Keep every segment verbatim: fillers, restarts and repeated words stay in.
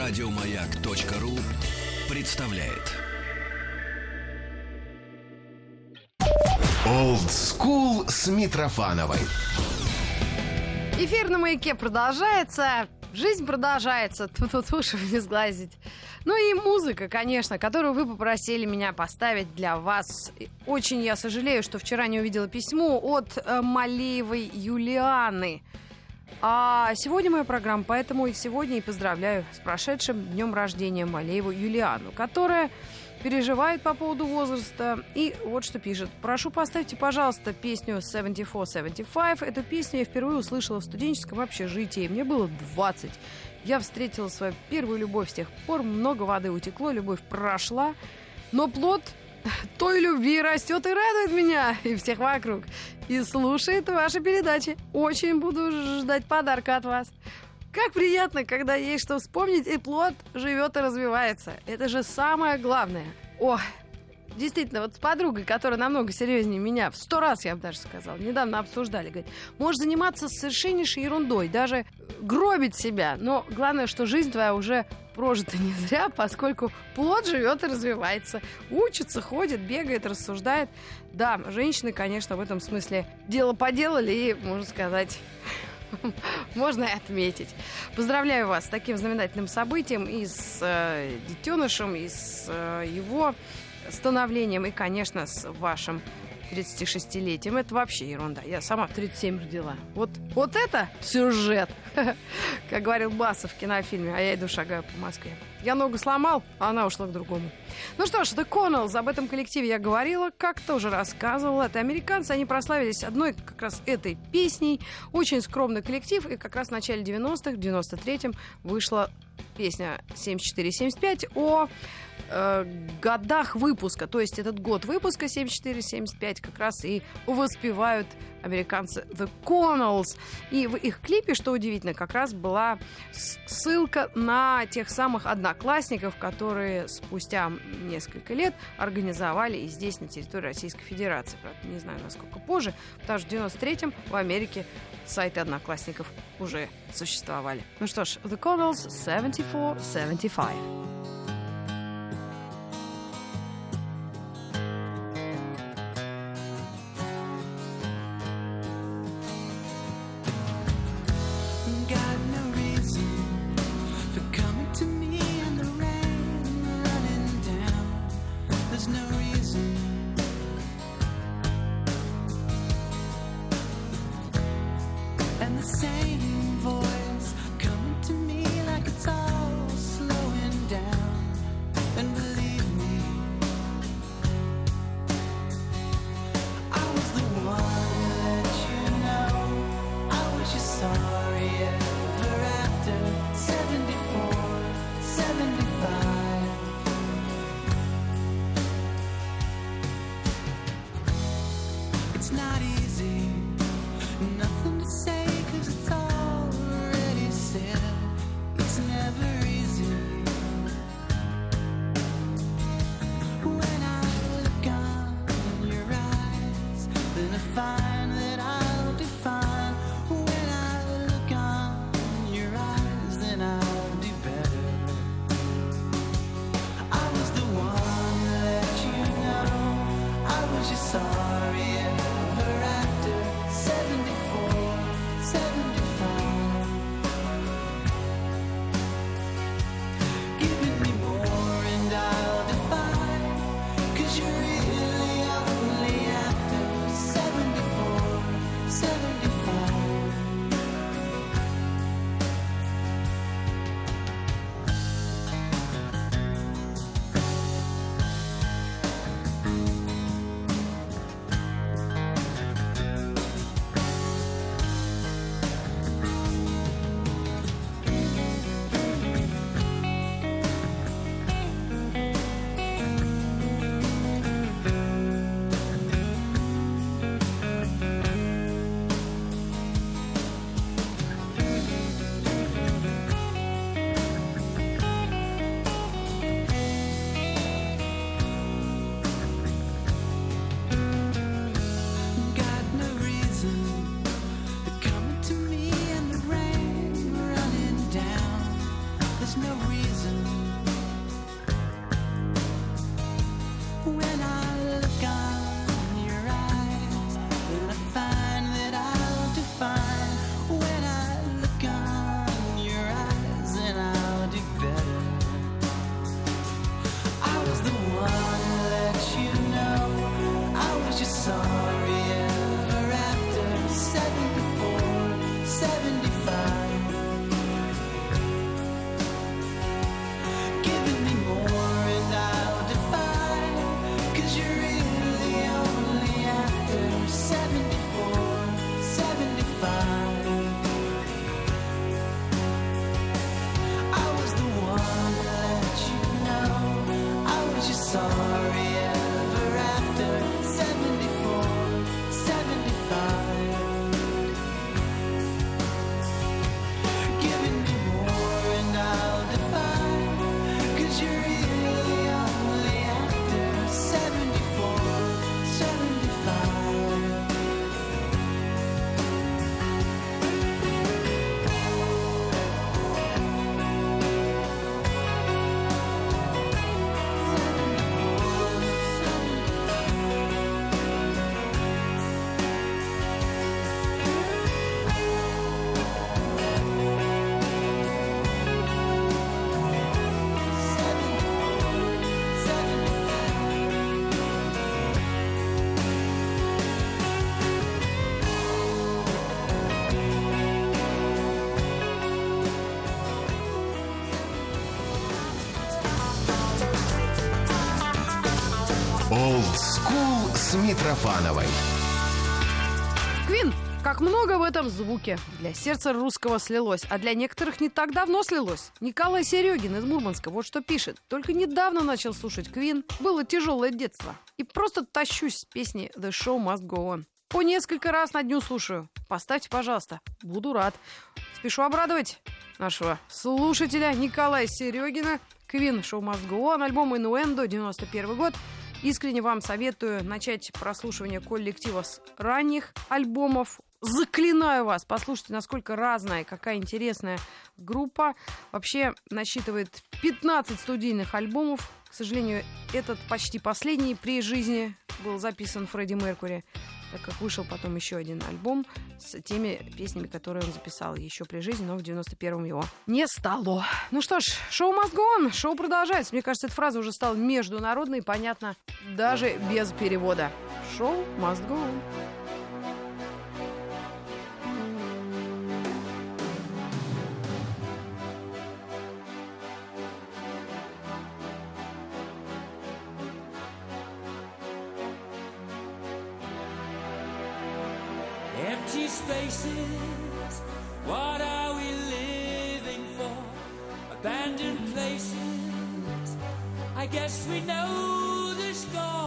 Радиомаяк.ру представляет Old School с Митрофановой. Эфир на Маяке продолжается. Жизнь продолжается. Тут уши не сглазить. Ну и музыка, конечно, которую вы попросили меня поставить для вас. Очень я сожалею, что вчера не увидела письмо от э, Малеевой Юлианы. А сегодня моя программа, поэтому и сегодня и поздравляю с прошедшим днем рождения Малееву Юлиану, которая переживает по поводу возраста. И вот что пишет. Прошу, поставьте, пожалуйста, песню семьдесят четыре семьдесят пять. Эту песню я впервые услышала в студенческом общежитии. Мне было двадцать. Я встретила свою первую любовь. С тех пор много воды утекло, любовь прошла. Но плод той любви растет и радует меня и всех вокруг. И слушает ваши передачи. Очень буду ждать подарка от вас. Как приятно, когда есть что вспомнить, и плод живет и развивается. Это же самое главное. О, действительно, вот с подругой, которая намного серьезнее меня, в сто раз, я бы даже сказала, недавно обсуждали, говорит, можешь заниматься совершеннейшей ерундой, даже гробить себя, но главное, что жизнь твоя уже прожита не зря, поскольку плод живет и развивается, учится, ходит, бегает, рассуждает. Да, женщины, конечно, в этом смысле дело поделали и, можно сказать... можно и отметить. Поздравляю вас с таким знаменательным событием и с э, детенышем, и с э, его становлением, и, конечно, с вашим тридцатишестилетием. Это вообще ерунда. Я сама в тридцать семь родила. Вот, вот это сюжет, как говорил Басов в кинофильме «А я иду шагаю по Москве». Я ногу сломал, а она ушла к другому. Ну что ж, The Connells, об этом коллективе я говорила, как-то уже рассказывала. Это американцы, они прославились одной как раз этой песней. Очень скромный коллектив, и как раз в начале девяностых, в девяносто третьем вышла песня семьдесят четыре семьдесят пять о э, годах выпуска. То есть этот год выпуска семьдесят четыре семьдесят пять как раз и воспевают американцы The Connells. И в их клипе, что удивительно, как раз была ссылка на тех самых одноклассников, которые спустя несколько лет организовали и здесь, на территории Российской Федерации. Правда, не знаю, насколько позже, потому что в девяносто третьем в Америке сайты одноклассников уже существовали. Ну что ж, The Connells семьдесят четыре семьдесят пять. It's not easy, nothing to say 'cause it's already Old School с Митрофановой. Квин. Как много в этом звуке для сердца русского слилось, а для некоторых не так давно слилось. Николай Серегин из Мурманска вот что пишет. Только недавно начал слушать Квин, было тяжелое детство. И просто тащусь с песни «The Show Must Go On». По несколько раз на дню слушаю. Поставьте, пожалуйста, буду рад. Спешу обрадовать нашего слушателя Николая Серегина. Квин «Show Must Go On», альбом «Инуэндо», девяносто первый год. Искренне вам советую начать прослушивание коллектива с ранних альбомов. Заклинаю вас, послушайте, насколько разная, какая интересная группа. Вообще насчитывает пятнадцать студийных альбомов. К сожалению, этот почти последний при жизни был записан Фредди Меркьюри, так как вышел потом еще один альбом с теми песнями, которые он записал еще при жизни, но в девяносто первом его не стало. Ну что ж, шоу must go on, шоу продолжается. Мне кажется, эта фраза уже стала международной и понятна даже без перевода. Шоу must go on. Empty spaces, what are we living for? Abandoned places, I guess we know the score.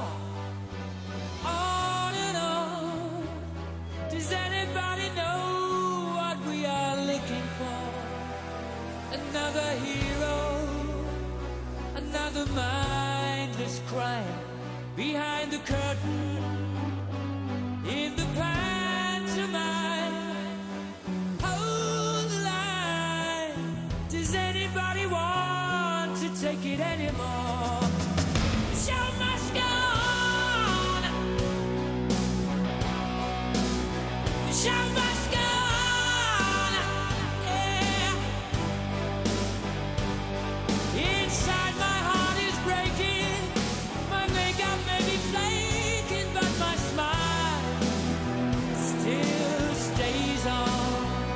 On and on, does anybody know what we are looking for? Another hero, another mindless crime, behind the curtain, in the past. Hold the line. Does anybody want to take it anymore? The show must go on. The show must go on. Yeah. Inside my heart is breaking. My makeup may be flaking, but my smile still stays on.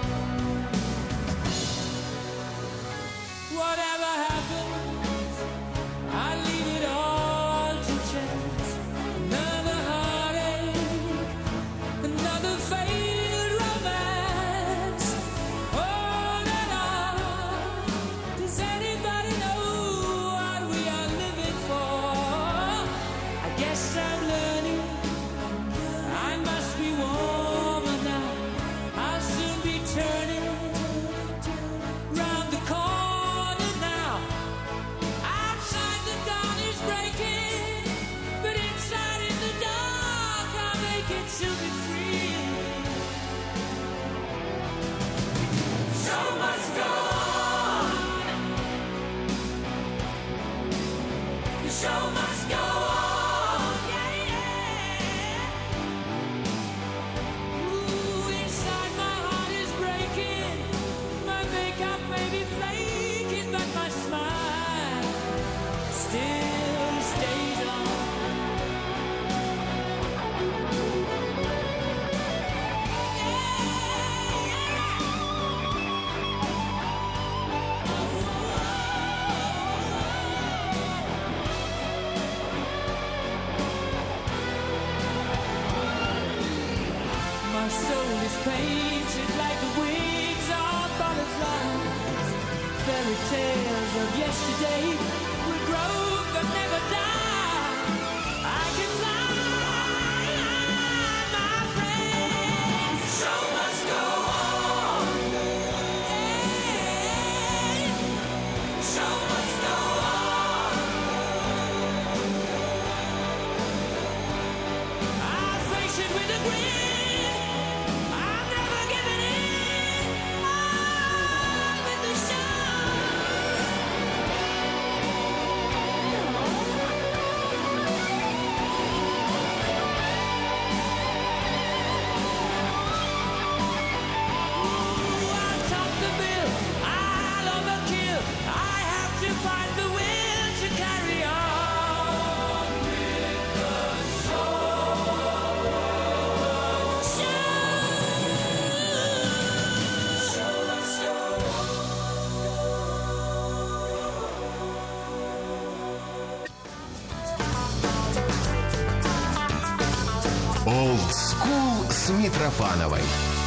Whatever happens, I leave it all to chance. Another heartache, another failed romance. On and on. Does anybody know what we are living for? I guess I'm learning. I must be warmer now. I'll soon be turning round the corner now. Outside the dawn is breaking, but inside in the dark I'll make it to be free. The show must go on. The show must go on. Yeah, yeah. Ooh, inside my heart is breaking. My makeup may be flaking, but my smile still stays on. My soul is painted like the wings of butterflies. Fairy tales of yesterday will grow but never die. I can fly, my friend. The show must go on. Yeah. The show must go on. I'll face it with a grin. I'm never giving in. On with the show. Old School с Митрофановой.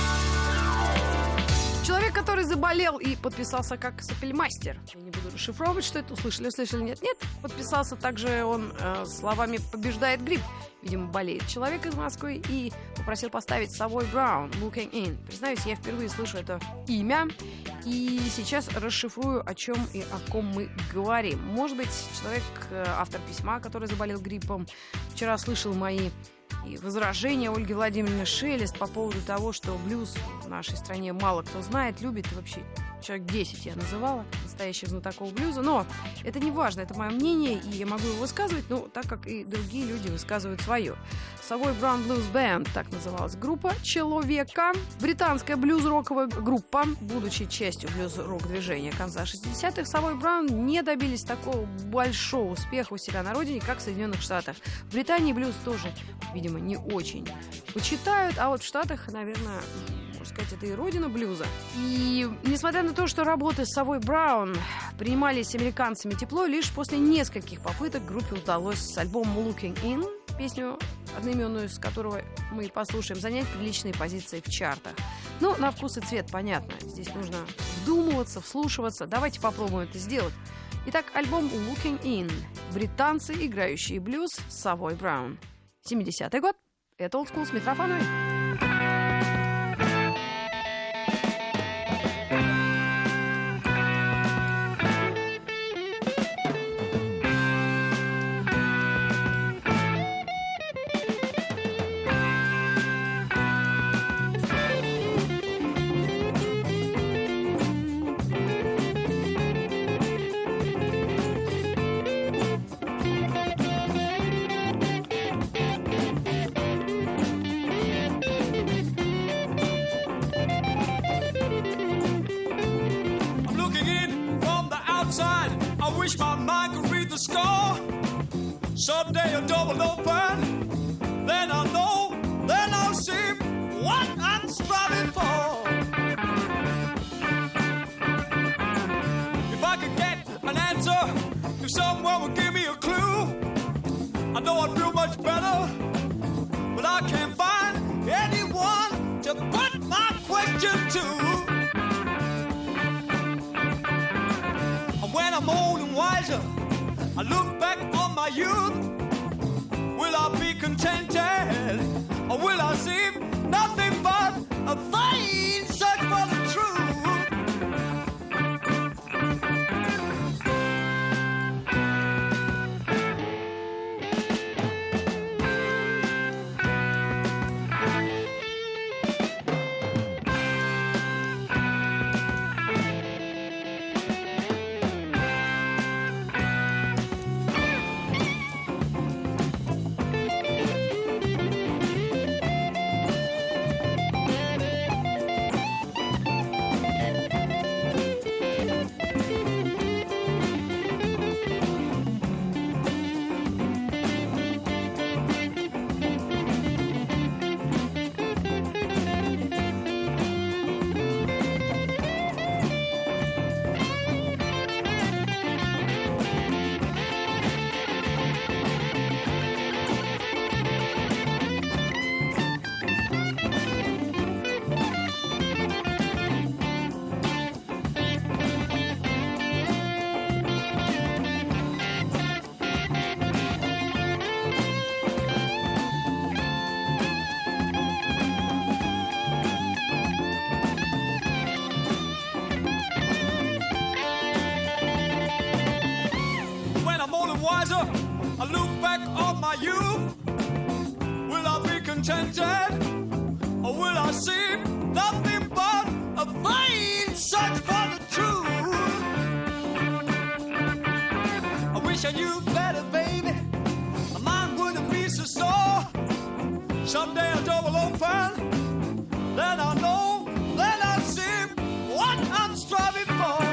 Человек, который заболел и подписался как сопельмастер. Я не буду расшифровывать, что это. Услышали, услышали, нет, нет. Подписался также он э, словами «побеждает грипп». Видимо, болеет человек из Москвы и попросил поставить Savoy Brown «Looking In». Признаюсь, я впервые слышу это имя. И сейчас расшифрую, о чем и о ком мы говорим. Может быть, человек, автор письма, который заболел гриппом, вчера слышал мои и возражения Ольги Владимировны Шелест по поводу того, что блюз в нашей стране мало кто знает, любит, и вообще человек десять я называла настоящих знатоков блюза, но это не важно, это мое мнение, и я могу его высказывать, ну, так как и другие люди высказывают свое. Savoy Brown Blues Band, так называлась группа человека, британская блюз-роковая группа, будучи частью блюз-рок-движения конца шестидесятых, Savoy Brown не добились такого большого успеха у себя на родине, как в Соединенных Штатах. В Британии блюз тоже, видимо, не очень почитают, а вот в Штатах, наверное, можно сказать, это и родина блюза. И несмотря на то, что работы с Savoy Brown принимались американцами тепло, лишь после нескольких попыток группе удалось с альбомом Looking In, песню, одноименную с которого мы послушаем, занять приличные позиции в чартах. Ну, на вкус и цвет, понятно. Здесь нужно вдумываться, вслушиваться. Давайте попробуем это сделать. Итак, альбом Looking In. Британцы, играющие блюз, Savoy Brown. семидесятый год. Это Old School с Митрофановой. Wish my mind could read the score. Someday a double open. Then I'll know, then I'll see what I'm striving for. If I could get an answer, if someone would give me a clue, I know I'd feel much better. But I can't find anyone to put my question to. When I'm old and wiser, I look back on my youth. Will I be contented, or will I see nothing but a vain search for the truth? Wiser, I look back on my youth. Will I be contented, or will I see nothing but a vain search for the truth? I wish I knew better, baby. My mind wouldn't be so sore. Someday a door will open, then I'll know, then I'll see what I'm striving for.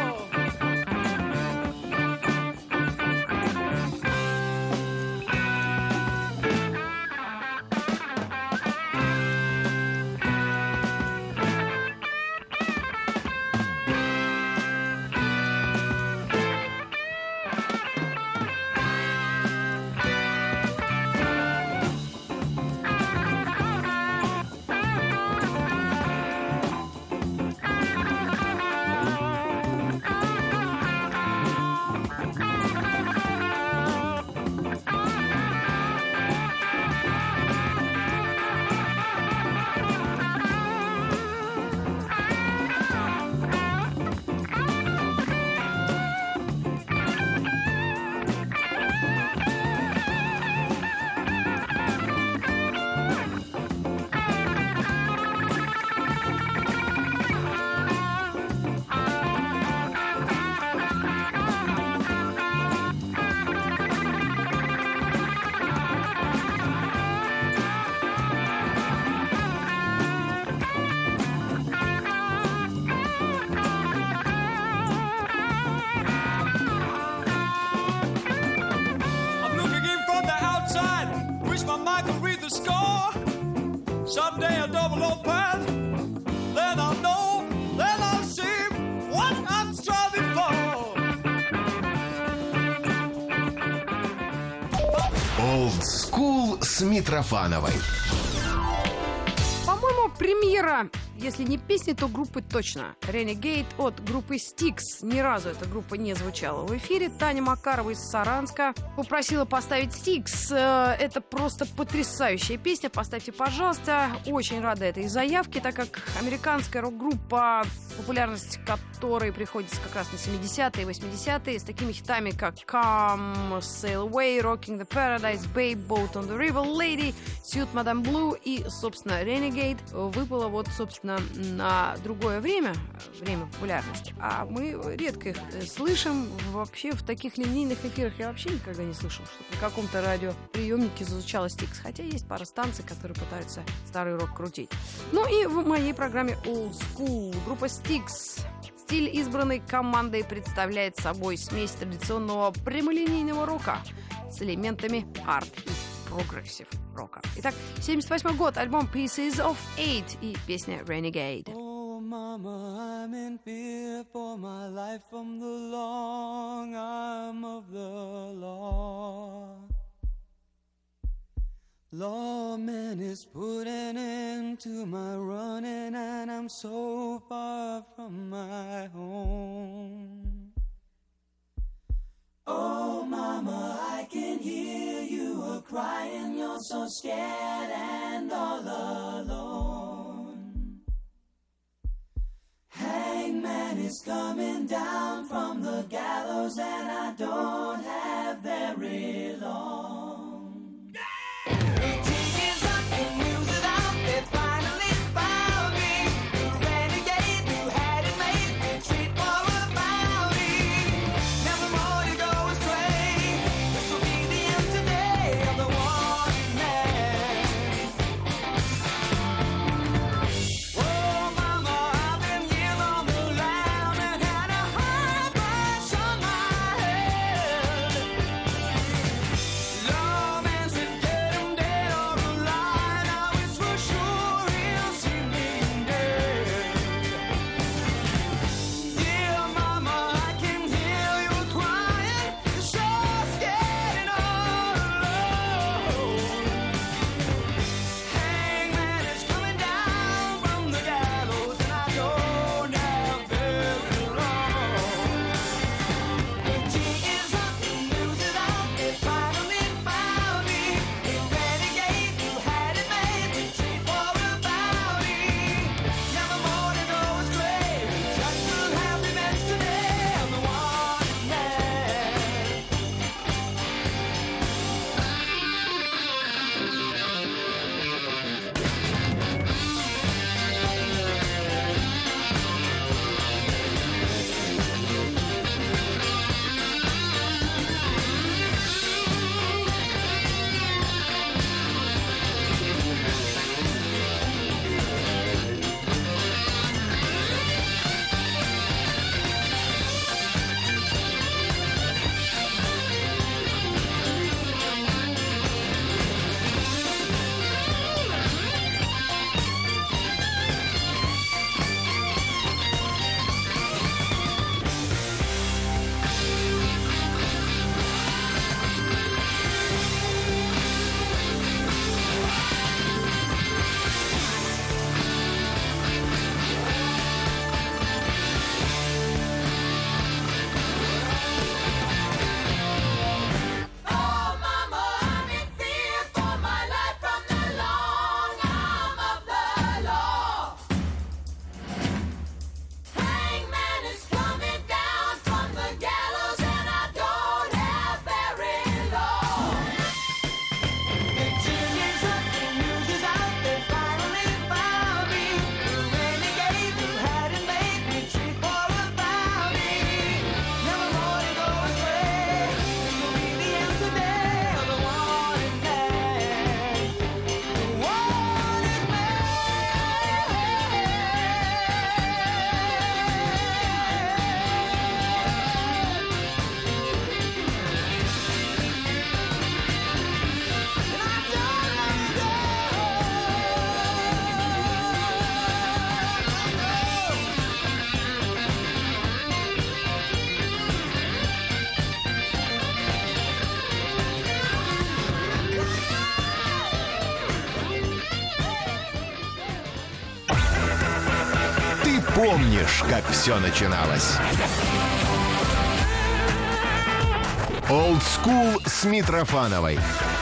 с Митрофановой. По-моему, премьера, если не песни, то группы точно. Renegade от группы Styx. Ни разу эта группа не звучала в эфире. Таня Макарова из Саранска попросила поставить Styx. Э, Это просто потрясающая песня. Поставьте, пожалуйста. Очень рада этой заявке, так как американская рок-группа, популярность которой приходится как раз на семидесятые и восьмидесятые, с такими хитами, как Come, Sail Away, Rocking the Paradise, Babe, Boat on the River, Lady, Suit Madame Blue и, собственно, Renegade выпала вот, собственно, на другое время, время популярности. А мы редко их слышим. Вообще в таких линейных эфирах я вообще никогда не слышал, что на каком-то радиоприемнике звучала Styx. Хотя есть пара станций, которые пытаются старый рок крутить. Ну и в моей программе Old School группа Styx. Стиль, избранный командой, представляет собой смесь традиционного прямолинейного рока с элементами арт и прогрессив рока. Итак, семьдесят восьмой год, альбом Pieces of Eight и песня Renegade. Oh, mama, I'm in fear for my life from the long arm of the law. Lawman is putting into my running, and I'm so far from my home. Oh, mama, I can hear you a-crying, you're so scared and all alone. Hangman is coming down from the gallows, and I don't have very long. Love Ты помнишь, как все начиналось. Old School с Митрофановой.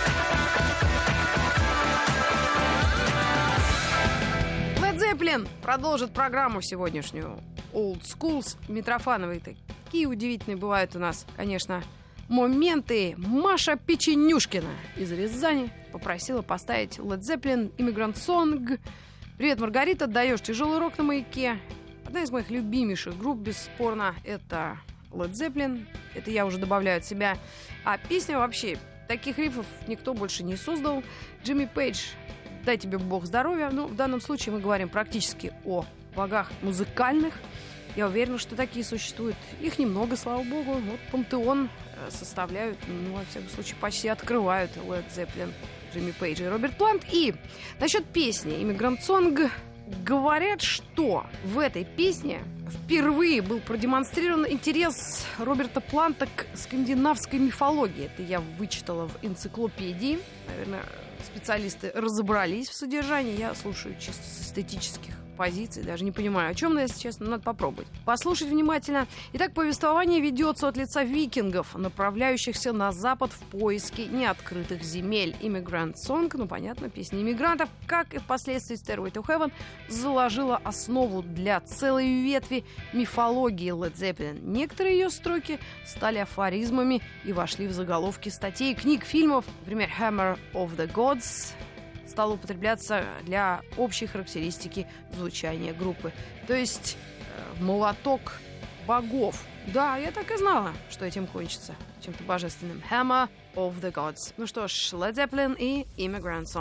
Led Zeppelin продолжит программу сегодняшнюю. Old School с Митрофановой. Такие удивительные бывают у нас, конечно, моменты. Маша Печенюшкина из Рязани попросила поставить Led Zeppelin Immigrant Song. Привет, Маргарита, даешь тяжелый рок на маяке. Одна из моих любимейших групп, бесспорно, это Led Zeppelin. Это я уже добавляю от себя. А песня вообще, таких рифов никто больше не создал. Джимми Пейдж, дай тебе бог здоровья. Ну, в данном случае мы говорим практически о богах музыкальных. Я уверена, что такие существуют. Их немного, слава богу. Вот пантеон составляют, ну, во всяком случае, почти открывают Led Zeppelin, Джимми Пейдж и Роберт Плант. И насчет песни «Immigrant Song» говорят, что в этой песне впервые был продемонстрирован интерес Роберта Планта к скандинавской мифологии. Это я вычитала в энциклопедии. Наверное, специалисты разобрались в содержании. Я слушаю чисто с эстетических позиций, даже не понимаю, о чем, но, если честно, надо попробовать. Послушать внимательно. Итак, повествование ведется от лица викингов, направляющихся на запад в поиске неоткрытых земель. Immigrant Song, ну, понятно, песня иммигрантов, как и впоследствии Stairway to Heaven, заложила основу для целой ветви мифологии Led Zeppelin. Некоторые ее строки стали афоризмами и вошли в заголовки статей, книг, фильмов. Например, Hammer of the Gods стал употребляться для общей характеристики звучания группы. То есть э, молоток богов. Да, я так и знала, что этим кончится. Чем-то божественным. Hammer of the Gods. Ну что ж, Led Zeppelin и Immigrant Song.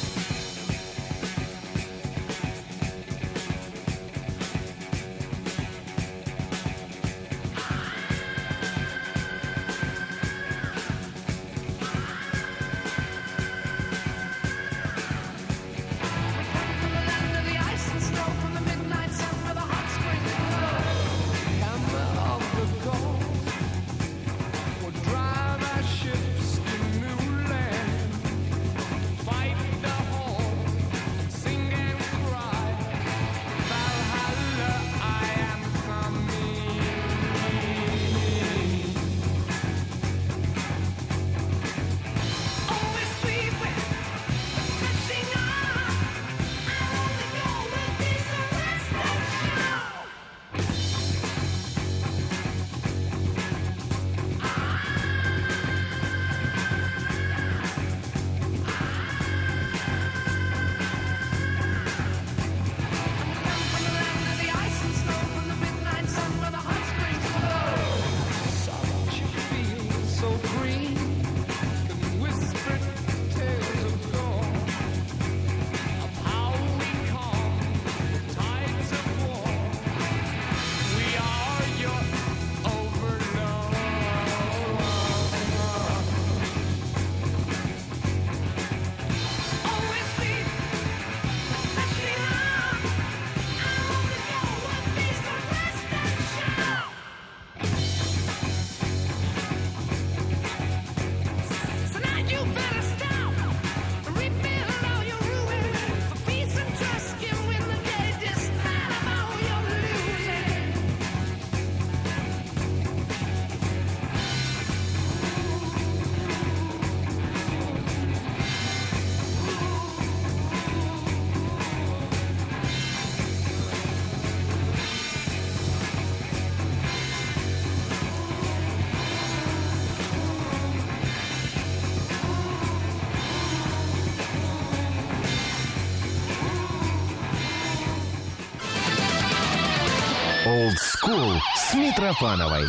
Old School с Митрофановой.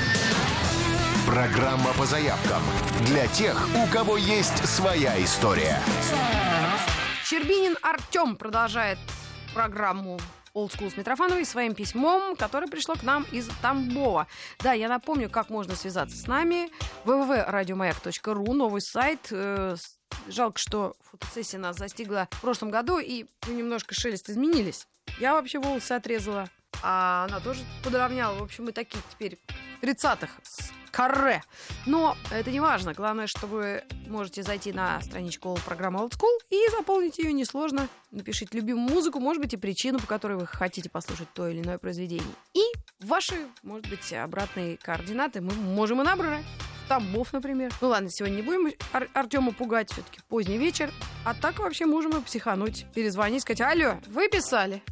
Программа по заявкам для тех, у кого есть своя история. Щербинин Артем продолжает программу Old School с Митрофановой своим письмом, которое пришло к нам из Тамбова. Да, я напомню, как можно связаться с нами. дабл ю дабл ю дабл ю точка радиомаяк точка ру, новый сайт. Жалко, что фотосессия нас застигла в прошлом году, и немножко шелест изменились. Я вообще волосы отрезала, а она тоже подровняла. В общем, мы такие теперь тридцатых с каре. Но это не важно. Главное, что вы можете зайти на страничку программы Old School и заполнить ее несложно. Напишите любимую музыку, может быть, и причину, по которой вы хотите послушать то или иное произведение. И ваши, может быть, обратные координаты мы можем и набрать. Тамбов, например. Ну ладно, сегодня не будем Ар- Артема пугать, все-таки поздний вечер. А так вообще можем и психануть, перезвонить, сказать: алло, вы писали?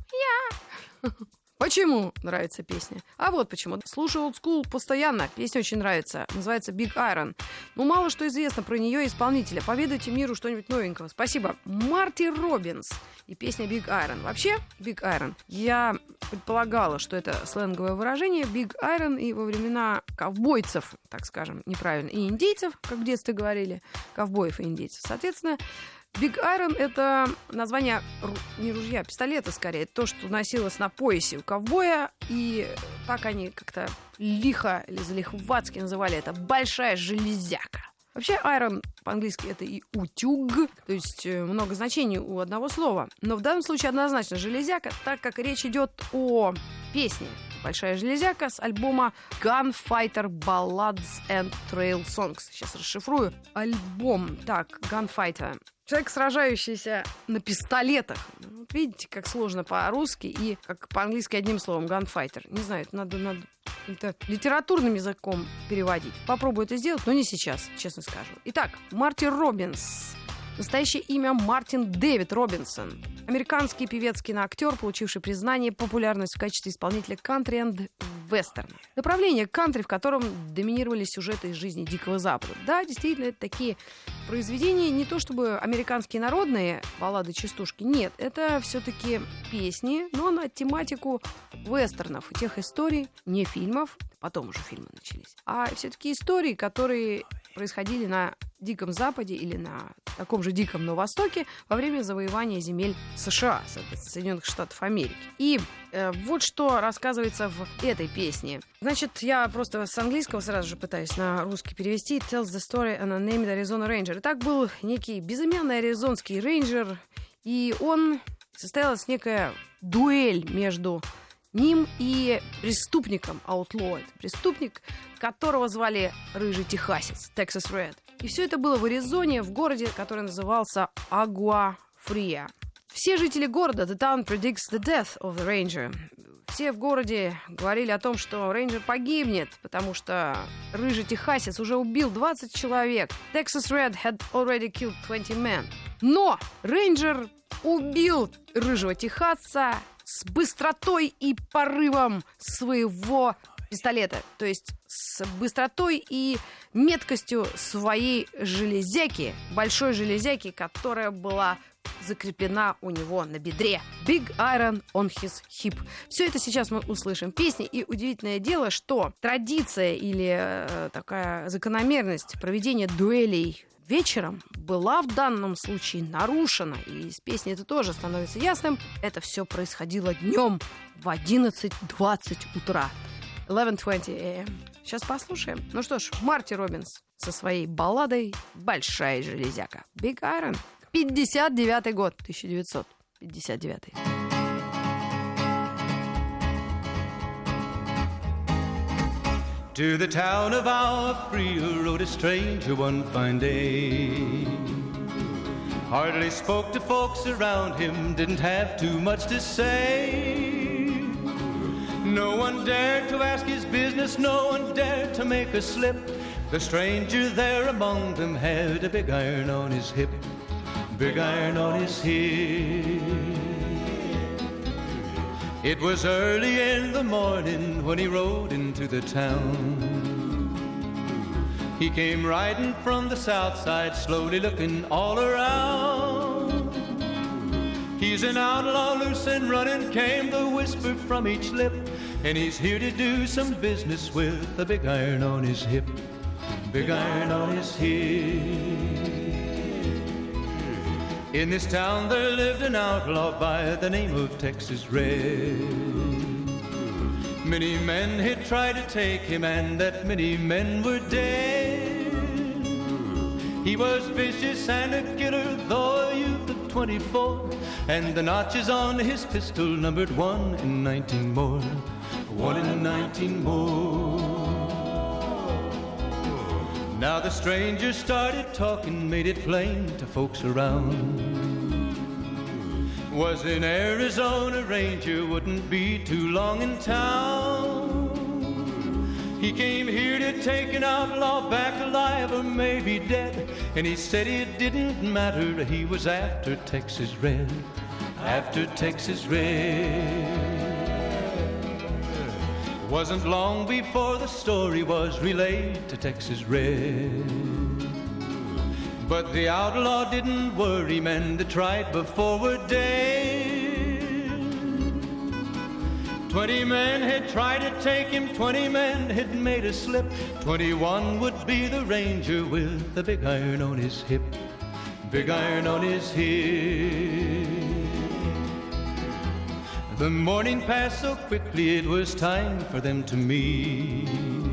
Я. Почему нравится песня? А вот почему. Слушаю Old School постоянно. Песня очень нравится. Называется Big Iron. Ну, мало что известно про нее и исполнителя. Поведайте миру что-нибудь новенького. Спасибо. Марти Робинс. И песня Big Iron. Вообще, Big Iron. Я предполагала, что это сленговое выражение. Big Iron и во времена ковбойцев, так скажем, неправильно, и индейцев, как в детстве говорили, ковбоев и индейцев. Соответственно, Big Iron — это название ру- не ружья, а пистолета, скорее. То, что носилось на поясе у ковбоя. И так они как-то лихо или залихватски называли это «большая железяка». Вообще, iron по-английски это и утюг, то есть э, много значений у одного слова. Но в данном случае однозначно железяка, так как речь идет о песне «Большая железяка» с альбома Gunfighter Ballads and Trail Songs. Сейчас расшифрую. Альбом. Так, Gunfighter. Человек, сражающийся на пистолетах. Вот видите, как сложно по-русски и как по-английски одним словом. Gunfighter. Не знаю, это надо, надо каким-то литературным языком переводить. Попробую это сделать, но не сейчас, честно скажу. Итак, Марти Робинс. Настоящее имя Мартин Дэвид Робинсон. Американский певец, киноактер, получивший признание и популярность в качестве исполнителя кантри и вестерна. Направление кантри, в котором доминировали сюжеты из жизни Дикого Запада. Да, действительно, это такие произведения, не то чтобы американские народные баллады-частушки, нет, это все-таки песни, но на тематику вестернов, тех историй, не фильмов, потом уже фильмы начались, а все-таки истории, которые происходили на Диком Западе или на таком же Диком на Востоке во время завоевания земель США, Соединенных Штатов Америки. И э, вот что рассказывается в этой песне. Значит, я просто с английского сразу же пытаюсь на русский перевести. It tells the story on a named Arizona Ranger. Итак, был некий безымянный аризонский рейнджер, и он состоялась некая дуэль между ним и преступником Outlaw. Это преступник, которого звали Рыжий Техасец, Texas Red. И все это было в Аризоне, в городе, который назывался Агуа-Фриа. Все жители города, the town predicts the death of the ranger. Все в городе говорили о том, что рейнджер погибнет, потому что Рыжий Техасец уже убил двадцать человек. Texas Red had already killed twenty men. Но рейнджер убил Рыжего Техасца с быстротой и порывом своего пистолета. То есть с быстротой и меткостью своей железяки, большой железяки, которая была закреплена у него на бедре. Big Iron on his hip. Все это сейчас мы услышим в песне. И удивительное дело, что традиция или э, такая закономерность проведения дуэлей вечером была в данном случае нарушена. И из песни это тоже становится ясным. Это все происходило днем в одиннадцать двадцать утра. eleven twenty a.m. Сейчас послушаем. Ну что ж, Марти Робинс со своей балладой «Большая железяка». Big Iron. пятьдесят девятый год. тысяча девятьсот пятьдесят девятый. To the town of our Fria rode a stranger one fine day. Hardly spoke to folks around him, didn't have too much to say. No one dared to ask his business, no one dared to make a slip. The stranger there among them had a big iron on his hip, big iron on his hip. It was early in the morning when he rode into the town. He came riding from the south side, slowly looking all around. He's an outlaw, loose and running, came the whisper from each lip, and he's here to do some business with a big iron on his hip, big iron on his hip. In this town there lived an outlaw by the name of Texas Red. Many men had tried to take him, and that many men were dead. He was vicious and a killer, though a youth of twenty-four, and the notches on his pistol numbered one in nineteen more, one in nineteen more. Now the stranger started talking, made it plain to folks around. Was an Arizona Ranger, wouldn't be too long in town. He came here to take an outlaw back alive or maybe dead. And he said it didn't matter, he was after Texas Red. After Texas Red. Wasn't long before the story was relayed to Texas Red. But the outlaw didn't worry, men that tried before were dead. Twenty men had tried to take him, twenty men had made a slip. Twenty-one would be the Ranger with the big iron on his hip. Big iron on his hip. The morning passed so quickly, it was time for them to meet.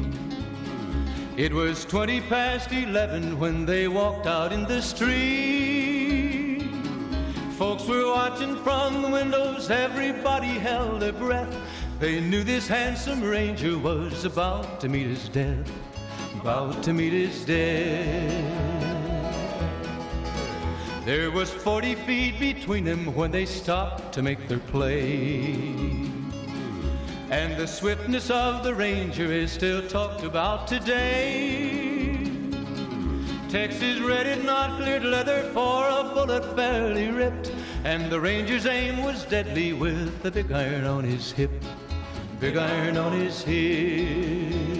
It was twenty past eleven when they walked out in the street. Folks were watching from the windows, everybody held their breath. They knew this handsome Ranger was about to meet his death. About to meet his death. There was forty feet between them when they stopped to make their play. And the swiftness of the Ranger is still talked about today. Texas Red had not cleared leather for a bullet fairly ripped. And the Ranger's aim was deadly with the big iron on his hip. Big iron on his hip.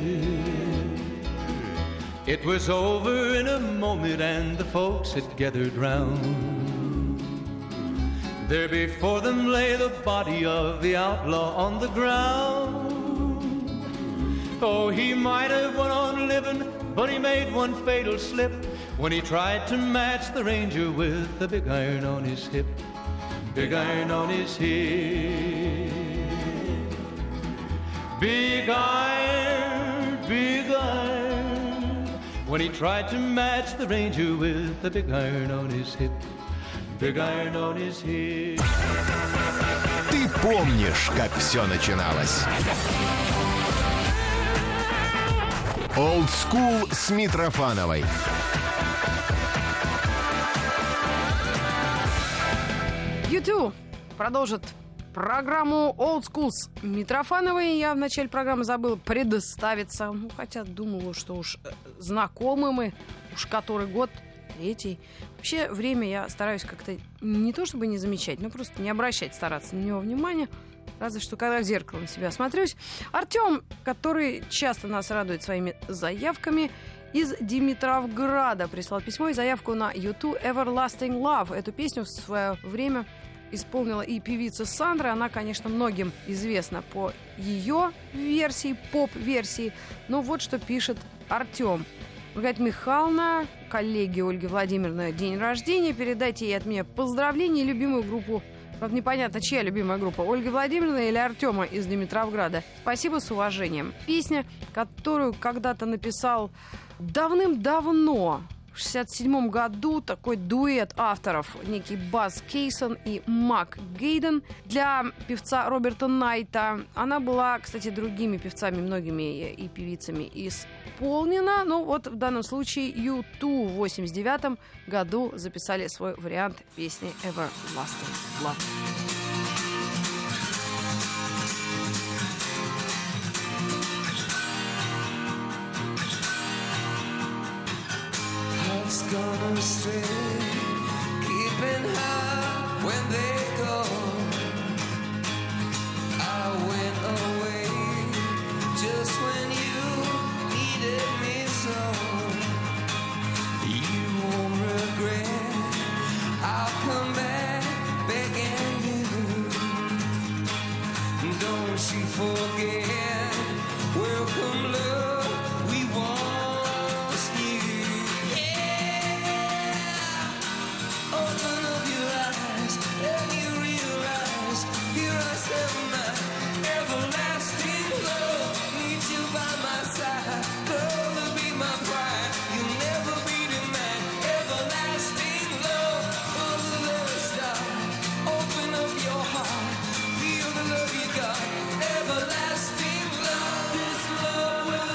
It was over in a moment and the folks had gathered round. There before them lay the body of the outlaw on the ground. Oh, he might have went on living, but he made one fatal slip when he tried to match the Ranger with the big iron on his hip. Big iron on his hip. Big iron, big iron. When he tried to match the Ranger with the big iron on his hip. Big iron on his hip. Ты помнишь, как все начиналось. Old School с Митрофановой. ю ту продолжит программу Old School с Митрофановой. Я в начале программы забыла представиться. Ну, хотя думала, что уж знакомы мы, уж который год, третий. Вообще время я стараюсь как-то не то чтобы не замечать, но просто не обращать, стараться на него внимания. Разве что когда в зеркало на себя смотрюсь. Артем, который часто нас радует своими заявками, из Димитровграда прислал письмо и заявку на ю ту Everlasting Love. Эту песню в свое время исполнила и певица Сандра. Она, конечно, многим известна по ее версии, поп-версии. Но вот что пишет Артем. Маргарита Михайловна, коллеге Ольги Владимировны день рождения. Передайте ей от меня поздравления и любимую группу. Правда, непонятно, чья любимая группа, Ольги Владимировны или Артема из Димитровграда. Спасибо, с уважением. Песня, которую когда-то написал давным-давно, в шестьдесят седьмом году, такой дуэт авторов, некий Баз Кейсон и Мак Гейден для певца Роберта Найта. Она была, кстати, другими певцами, многими и певицами исполнена. Но вот в данном случае ю ту в восемьдесят девятом году записали свой вариант песни Everlasting Love. Gonna stay, keeping high when they go. I went away just when you needed me so. You won't regret, I'll come back begging you. Don't you forget, welcome love we once knew. Open up your eyes and you realize here I stand my everlasting love. Need you by my side, love will be my pride. You'll never be denied. Everlasting love, under the stars. Open up your heart, feel the love you got. Everlasting love, this love will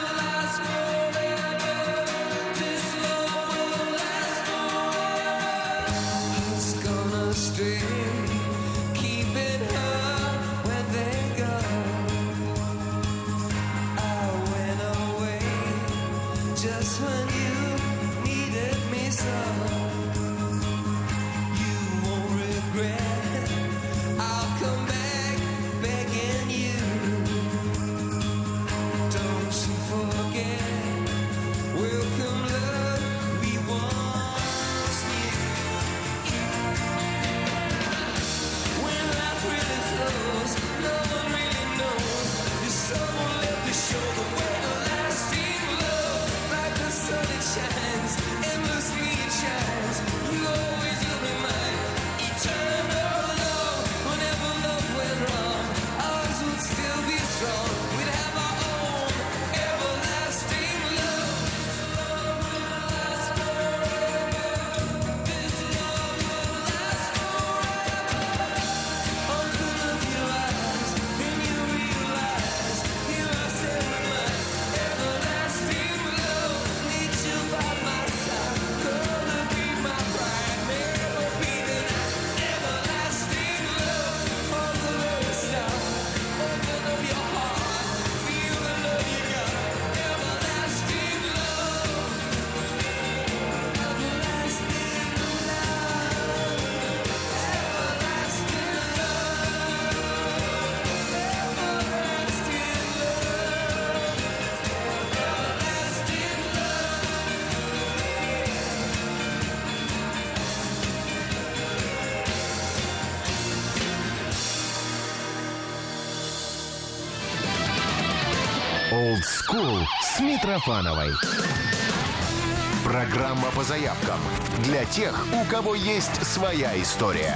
Old School с Митрофановой. Программа по заявкам для тех, у кого есть своя история.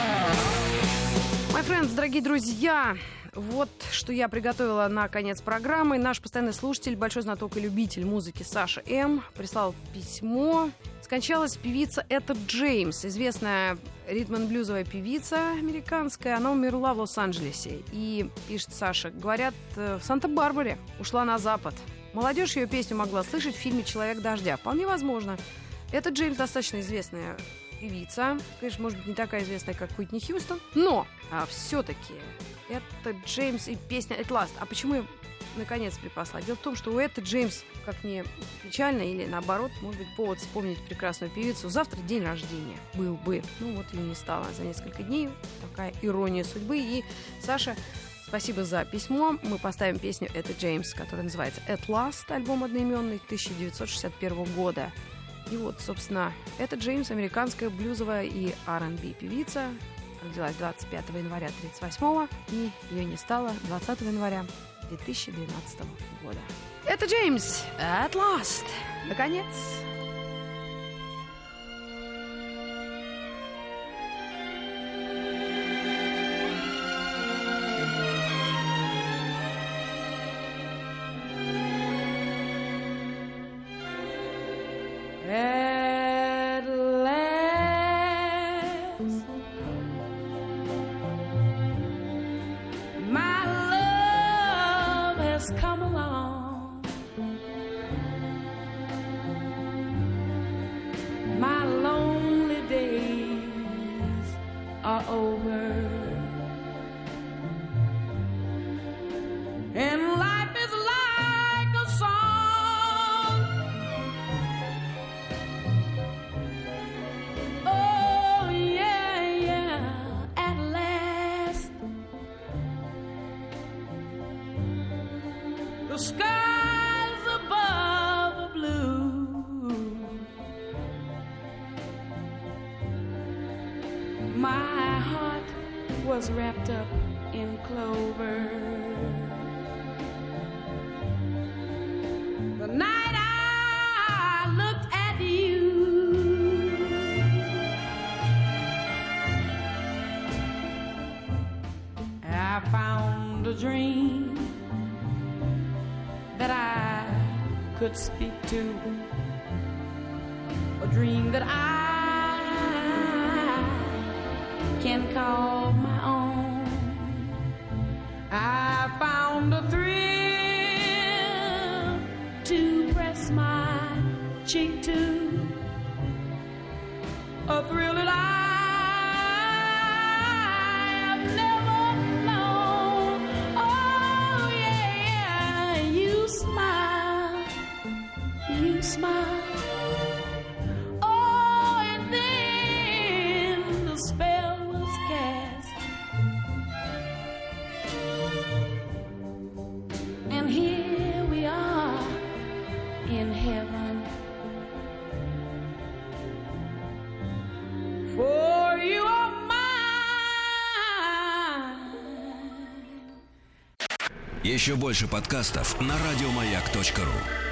My friends, дорогие друзья, вот что я приготовила на конец программы. Наш постоянный слушатель, большой знаток и любитель музыки Саша М. прислал письмо. Скончалась певица Этта Джеймс, известная ритм-н-блюзовая певица американская. Она умерла в Лос-Анджелесе. И, пишет Саша, говорят, в Санта-Барбаре ушла на запад. Молодежь ее песню могла слышать в фильме «Человек дождя». Вполне возможно. Этта Джеймс достаточно известная певица. Конечно, может быть, не такая известная, как Уитни Хьюстон. Но а, все-таки Этта Джеймс и песня «At Last». А почему я наконец припасла? Дело в том, что у Этты Джеймс, как ни печально, или наоборот, может быть, повод вспомнить прекрасную певицу. Завтра день рождения был бы. Ну вот ее не стало за несколько дней. Такая ирония судьбы. И, Саша, спасибо за письмо. Мы поставим песню Этты Джеймс, которая называется «At Last», альбом одноименный тысяча девятьсот шестьдесят первого года. И вот, собственно, Этта Джеймс, американская блюзовая и ар энд би певица. Родилась двадцать пятого января тысяча девятьсот тридцать восьмого, и ее не стало двадцатого января две тысячи двенадцатого года. Этта Джеймс, At Last. Наконец. At last, my love has come along. My lonely days are over, and life is like a song. Oh yeah, yeah, at last the skies above are blue. My heart was wrapped up in clover. The night I looked at you, I found a dream that I could speak to, a dream that I can call my own. I found a thrill to press my cheek to, a thrill that I have never known. Oh yeah, you smile, you smile. Oh, and then the spell was cast, and here we are in heaven. For you are mine. Еще больше подкастов на радиомаяк точка ру.